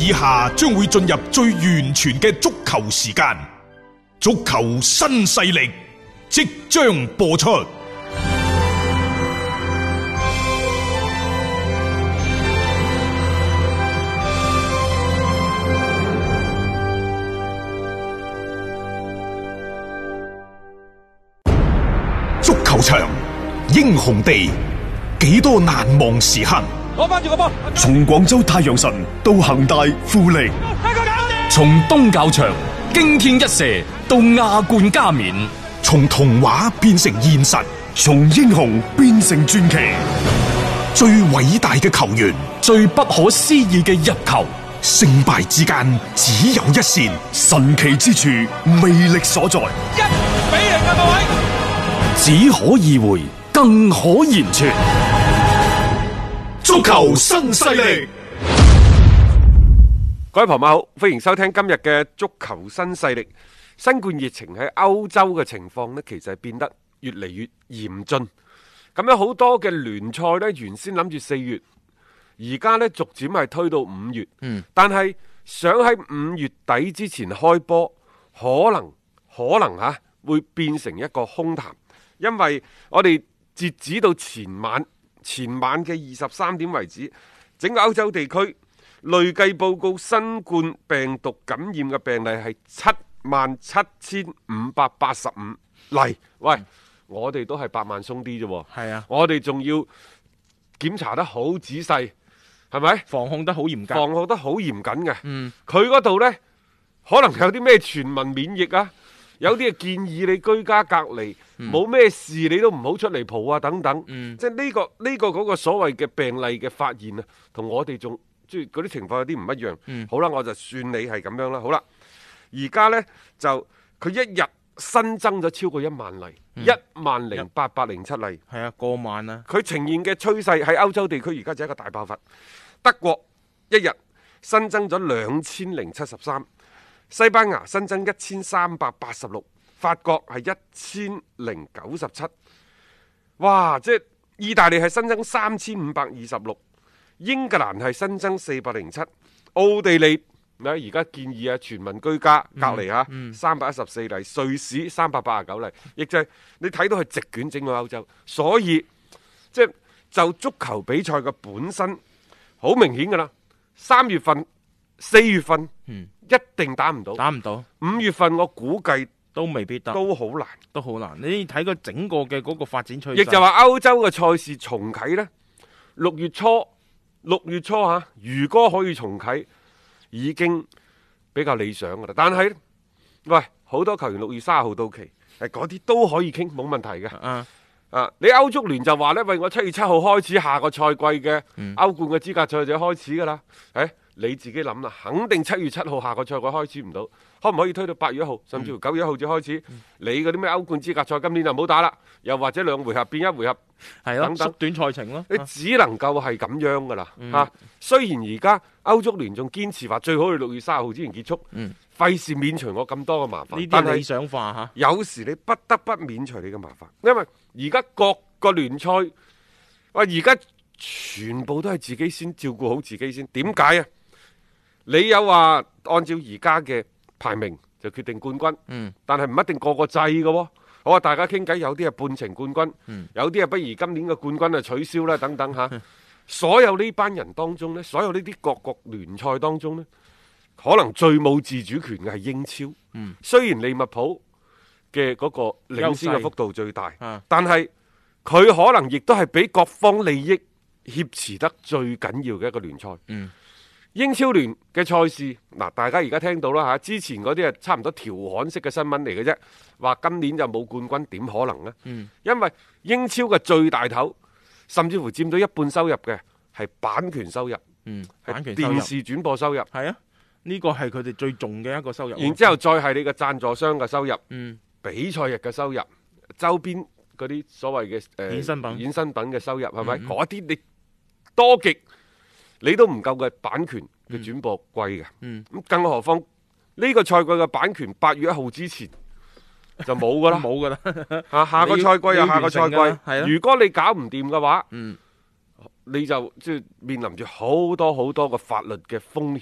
以下將會進入最完全嘅足球時間，足球新勢力即將播出。足球場，英雄地，幾多難忘時刻。 攞翻住個波， 從廣州太陽神到恒大富力， 從東較場驚天一射到亞冠加冕， 從童話變成現實， 從英雄變成傳奇。 最偉大嘅球員， 最不可思議嘅入球， 勝敗之間只有一線， 神奇之處魅力所在。 1-0啊各位！ 只可意會，更可言傳。 足球新勢力， 各位朋友好，歡迎收聽今日嘅足球新勢力。新冠疫情喺歐洲嘅情況呢，其實係變得越嚟越嚴峻。咁樣好多嘅聯賽呢，原先諗住4月，而家呢逐漸係推到5月。但係想喺5月底之前開波，可能會變成一個空談，因為我哋截止到前晚嘅23點為止，整個歐洲地區累計報告新冠病毒感染嘅病例係77,585例。喂，我哋都係8萬鬆啲啫。 係啊， 我哋仲要檢查得好仔細，係咪？ 防控得好嚴格， 防控得好嚴謹嘅。佢嗰度呢，可能有啲咩全民免疫啊？有啲建議你居家隔離，冇咩事你都唔好出嚟蒲啊等等。即係呢個嗰個所謂嘅病例嘅發現啊，同我哋仲即係嗰啲情況有啲唔一樣。好啦，我就算你係咁樣啦。好啦，而家呢，就佢一日新增咗超過1萬例，10,807例。 係啊，過萬啦。 佢呈現嘅趨勢喺歐洲地區而家就係一個大爆發。德國一日新增咗2073。西班牙新增1386，法國係1097，哇！即係意大利係新增3526，英格蘭係新增407，奧地利而家建議全民居家隔離314例，瑞士389例，亦就係你睇到係席捲整個歐洲，所以即係就足球比賽嘅本身好明顯㗎啦，3月份、4月份。一定打唔到，5月份我估計都未必得， 都好難。 你睇個整個嘅嗰個發展趨勢， 亦就話歐洲嘅賽事重啟呢，6月初如果可以重啟，已經比較理想噶啦。但係，喂，好多球員6月30號到期，嗰啲都可以傾，冇問題嘅。你歐足聯就話呢，喂，我7月7號開始下個賽季嘅歐冠嘅資格賽就開始噶啦，你自己諗啦，肯定7月7號下個賽季開始唔到，可唔可以推到8月1號，甚至乎9月1號至開始？你嗰啲咩歐冠資格賽今年就唔好打啦，又或者2回合變1回合，等等縮短賽程咯。 你只能夠係咁樣噶啦。雖然而家歐足聯仲堅持話最好係6月30號之前結束，費事免除我咁多嘅麻煩。 呢啲理想化嚇， 有時你不得不免除你嘅麻煩，因為而家各個聯賽，而家全部都係自己先照顧好自己先。點解啊？你有話按照而家嘅排名就決定冠軍，但係唔一定個個制嘅喎。好啊，大家傾偈，有啲係半程冠軍，有啲係不如今年嘅冠軍啊取消啦等等嚇。所有呢班人當中呢，所有呢啲各國聯賽當中呢，可能最冇自主權嘅係英超。雖然利物浦嘅嗰個領先嘅幅度最大，但係佢可能亦都係俾各方利益挾持得最緊要嘅一個聯賽。英超聯嘅賽事，大家而家聽到啦嚇，之前嗰啲係差唔多調侃式嘅新聞嚟嘅啫，話今年就冇冠軍，點可能呢？因為英超嘅最大頭，甚至乎佔到一半收入嘅係版權收入， 版權電視轉播收入， 係啊，呢個係佢哋最重嘅一個收入。 然之後再係你嘅贊助商嘅收入，比賽日嘅收入，周邊嗰啲所謂嘅衍生品嘅收入，係咪？嗰啲你多極，你都唔夠嘅版權嘅轉播貴嘅，咁更何況呢個賽季嘅版權8月1號之前就冇噶啦， 冇噶啦， 下個賽季又下個賽季，如果你搞唔掂嘅話，你就即係面臨住好多好多嘅法律嘅風險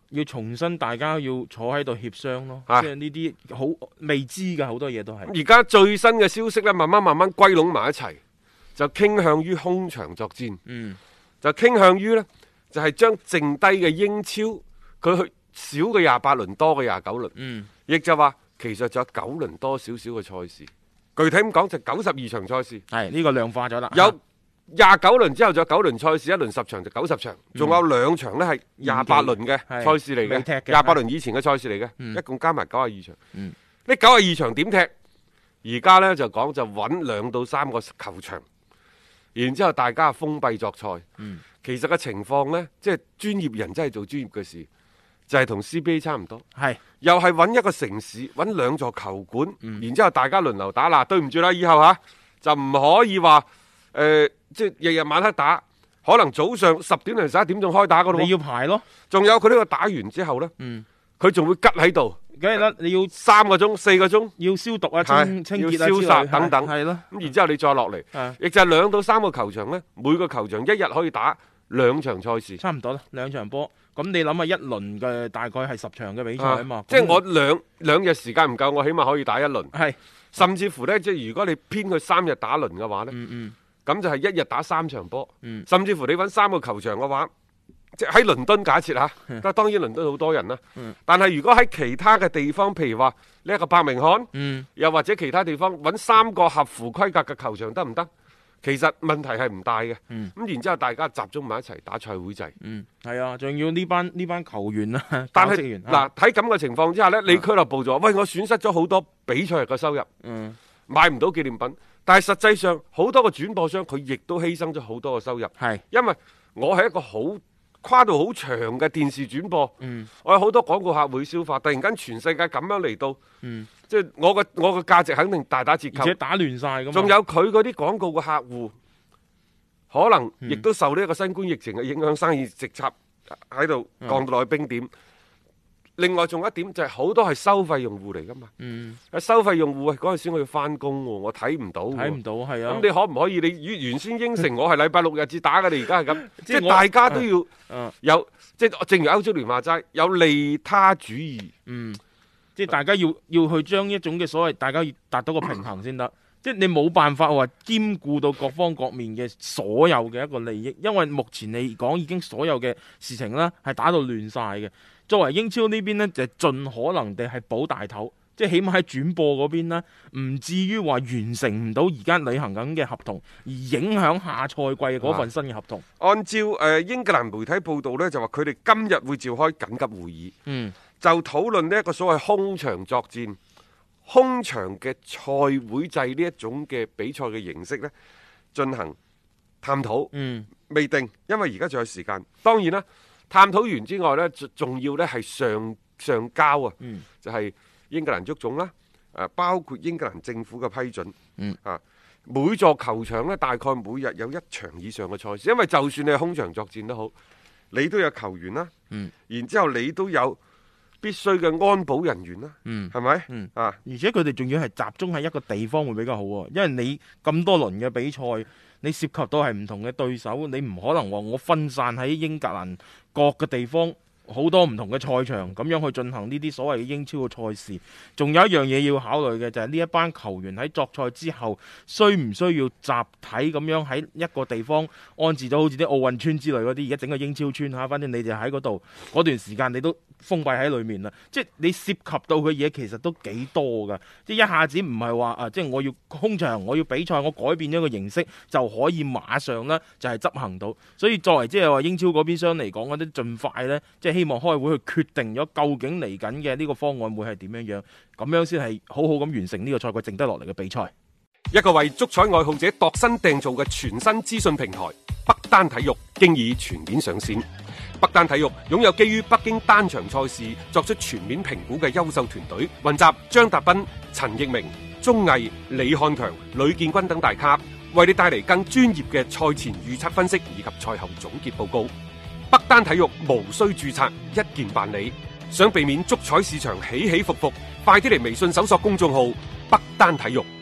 要重新大家要坐喺度協商咯， 啊即係呢啲好未知嘅好多嘢都係。 而家最新嘅消息呢，慢慢歸攏埋一齊，就傾向於空場作戰，就傾向於呢，就係將剩低嘅英超佢去少嘅28輪，多嘅29輪，亦就話其實仲有9輪多少少嘅賽事。具體咁講就92場賽事， 係呢個量化咗啦。 有29輪之後仲有9輪賽事，一輪10場就90場，仲有2場呢係28輪嘅賽事嚟嘅，28輪以前嘅賽事嚟嘅，一共加埋92場。呢92場點踢？而家呢就講就揾2到3個球場，然之後大家封閉作賽。其實嘅情況呢，即係專業人真係做專業嘅事，就係同 CBA 差唔多，又係揾一個城市，揾2座球館，然之後大家輪流打。嗱，對唔住啦，以後就唔可以話即係日日晚黑打，可能早上10點零11點鐘開打嗰度。 你要排咯， 仲有佢呢個打完之後呢，佢仲會吉喺度。 梗係啦，你要 3個鐘、4個鐘， 要消毒啊、清潔啊、 要消殺等等， 係咯。 咁然之後你再落嚟，亦就係2到3個球場呢，每個球場一日可以打2場賽事， 差唔多啦，2場波。咁你諗下一輪嘅大概係10場嘅比賽啊嘛， 即係我兩日時間唔夠，我起碼可以打1輪。 係， 甚至乎呢，即係如果你編佢3日打輪嘅話呢，咁就係1日打3場波。甚至乎你揾3個球場嘅話，即係喺倫敦假設嚇，當然倫敦好多人啦。但係如果喺其他嘅地方，譬如話呢一個伯明翰，又或者其他地方揾3個合乎規格嘅球場得唔得？其實問題係唔大嘅。咁然之後大家集中埋一齊打賽會制。 係啊，仲要呢班球員啊， 但係嗱喺咁嘅情況之下呢，你俱樂部就話：喂，我損失咗好多比賽日嘅收入，買唔到紀念品。但係實際上好多個轉播商佢亦都犧牲咗好多個收入。係，因為我係一個好跨度好長嘅電視轉播，我有好多廣告客會消化。突然間全世界咁樣嚟到，即係我嘅價值肯定大打折扣， 而且打亂晒咁。 仲有佢嗰啲廣告嘅客戶，可能亦都受呢一個新冠疫情嘅影響，生意直插喺度降到落去冰點。另外仲有一點就係好多係收費用戶嚟噶嘛，收費用戶嗰陣時我要翻工喎，我睇唔到，係啊。咁你可唔可以？你原先應承我係禮拜6日至打嘅，你而家係咁，即係大家都要有，即係正如歐洲聯話齋，有利他主義。 即係大家要去將一種嘅所謂，大家要達到個平衡先得。即係你冇辦法話兼顧到各方各面嘅所有嘅一個利益，因為目前嚟講已經所有嘅事情呢係打到亂晒嘅。作為英超呢邊呢，就盡可能地係保大頭，即係起碼喺轉播嗰邊呢，唔至於話完成唔到而家履行緊嘅合同，而影響下賽季嘅嗰份新嘅合同。 按照英格蘭媒體報道呢，就話佢哋今日會召開緊急會議，就討論呢一個所謂空場作戰、空場嘅賽會制呢一種嘅比賽嘅形式呢，進行探討。未定，因為而家仲有時間。當然啦。探討完之外呢，仲要呢係上交啊，就係英格蘭足總啦，包括英格蘭政府嘅批准。每座球場呢，大概每日有1場以上嘅賽事，因為就算你係空場作戰都好，你都有球員啦，然之後你都有必須嘅安保人員啦，係咪？而且佢哋仲要係集中喺一個地方會比較好喎，因為你咁多輪嘅比賽。你涉及到係唔同嘅對手，你唔可能話我分散喺英格蘭各個地方好多唔同嘅賽場咁樣去進行呢啲所謂嘅英超嘅賽事。仲有一樣嘢要考慮嘅就係呢一班球員喺作賽之後，需唔需要集體咁樣喺一個地方安置咗好似啲奧運村之類嗰啲，而家整個英超村嚇，反正你哋喺嗰度嗰段時間你都封閉喺裏面啦，即係你涉及到嘅嘢其實都幾多噶，即係一下子唔係話即係我要空場，我要比賽，我改變咗個形式就可以馬上呢就係執行到。所以作為即係話英超嗰邊商嚟講，嗰啲盡快呢，即係希望開會去決定咗究竟嚟緊嘅呢個方案會係點樣樣，咁樣先係好好咁完成呢個賽季剩低落嚟嘅比賽。 一個為足彩愛好者度身訂造嘅全新資訊平台北單體育經已全面上線。北單體育擁有基於北京單場賽事作出全面評估嘅優秀團隊，雲集張達斌、陳奕明、鐘毅、李漢強、呂建軍等大咖，為你帶嚟更專業嘅賽前預測分析以及賽後總結報告。北單體育無需註冊，一鍵辦理。想避免足彩市場起起伏伏，快啲嚟微信搜索公眾號北單體育。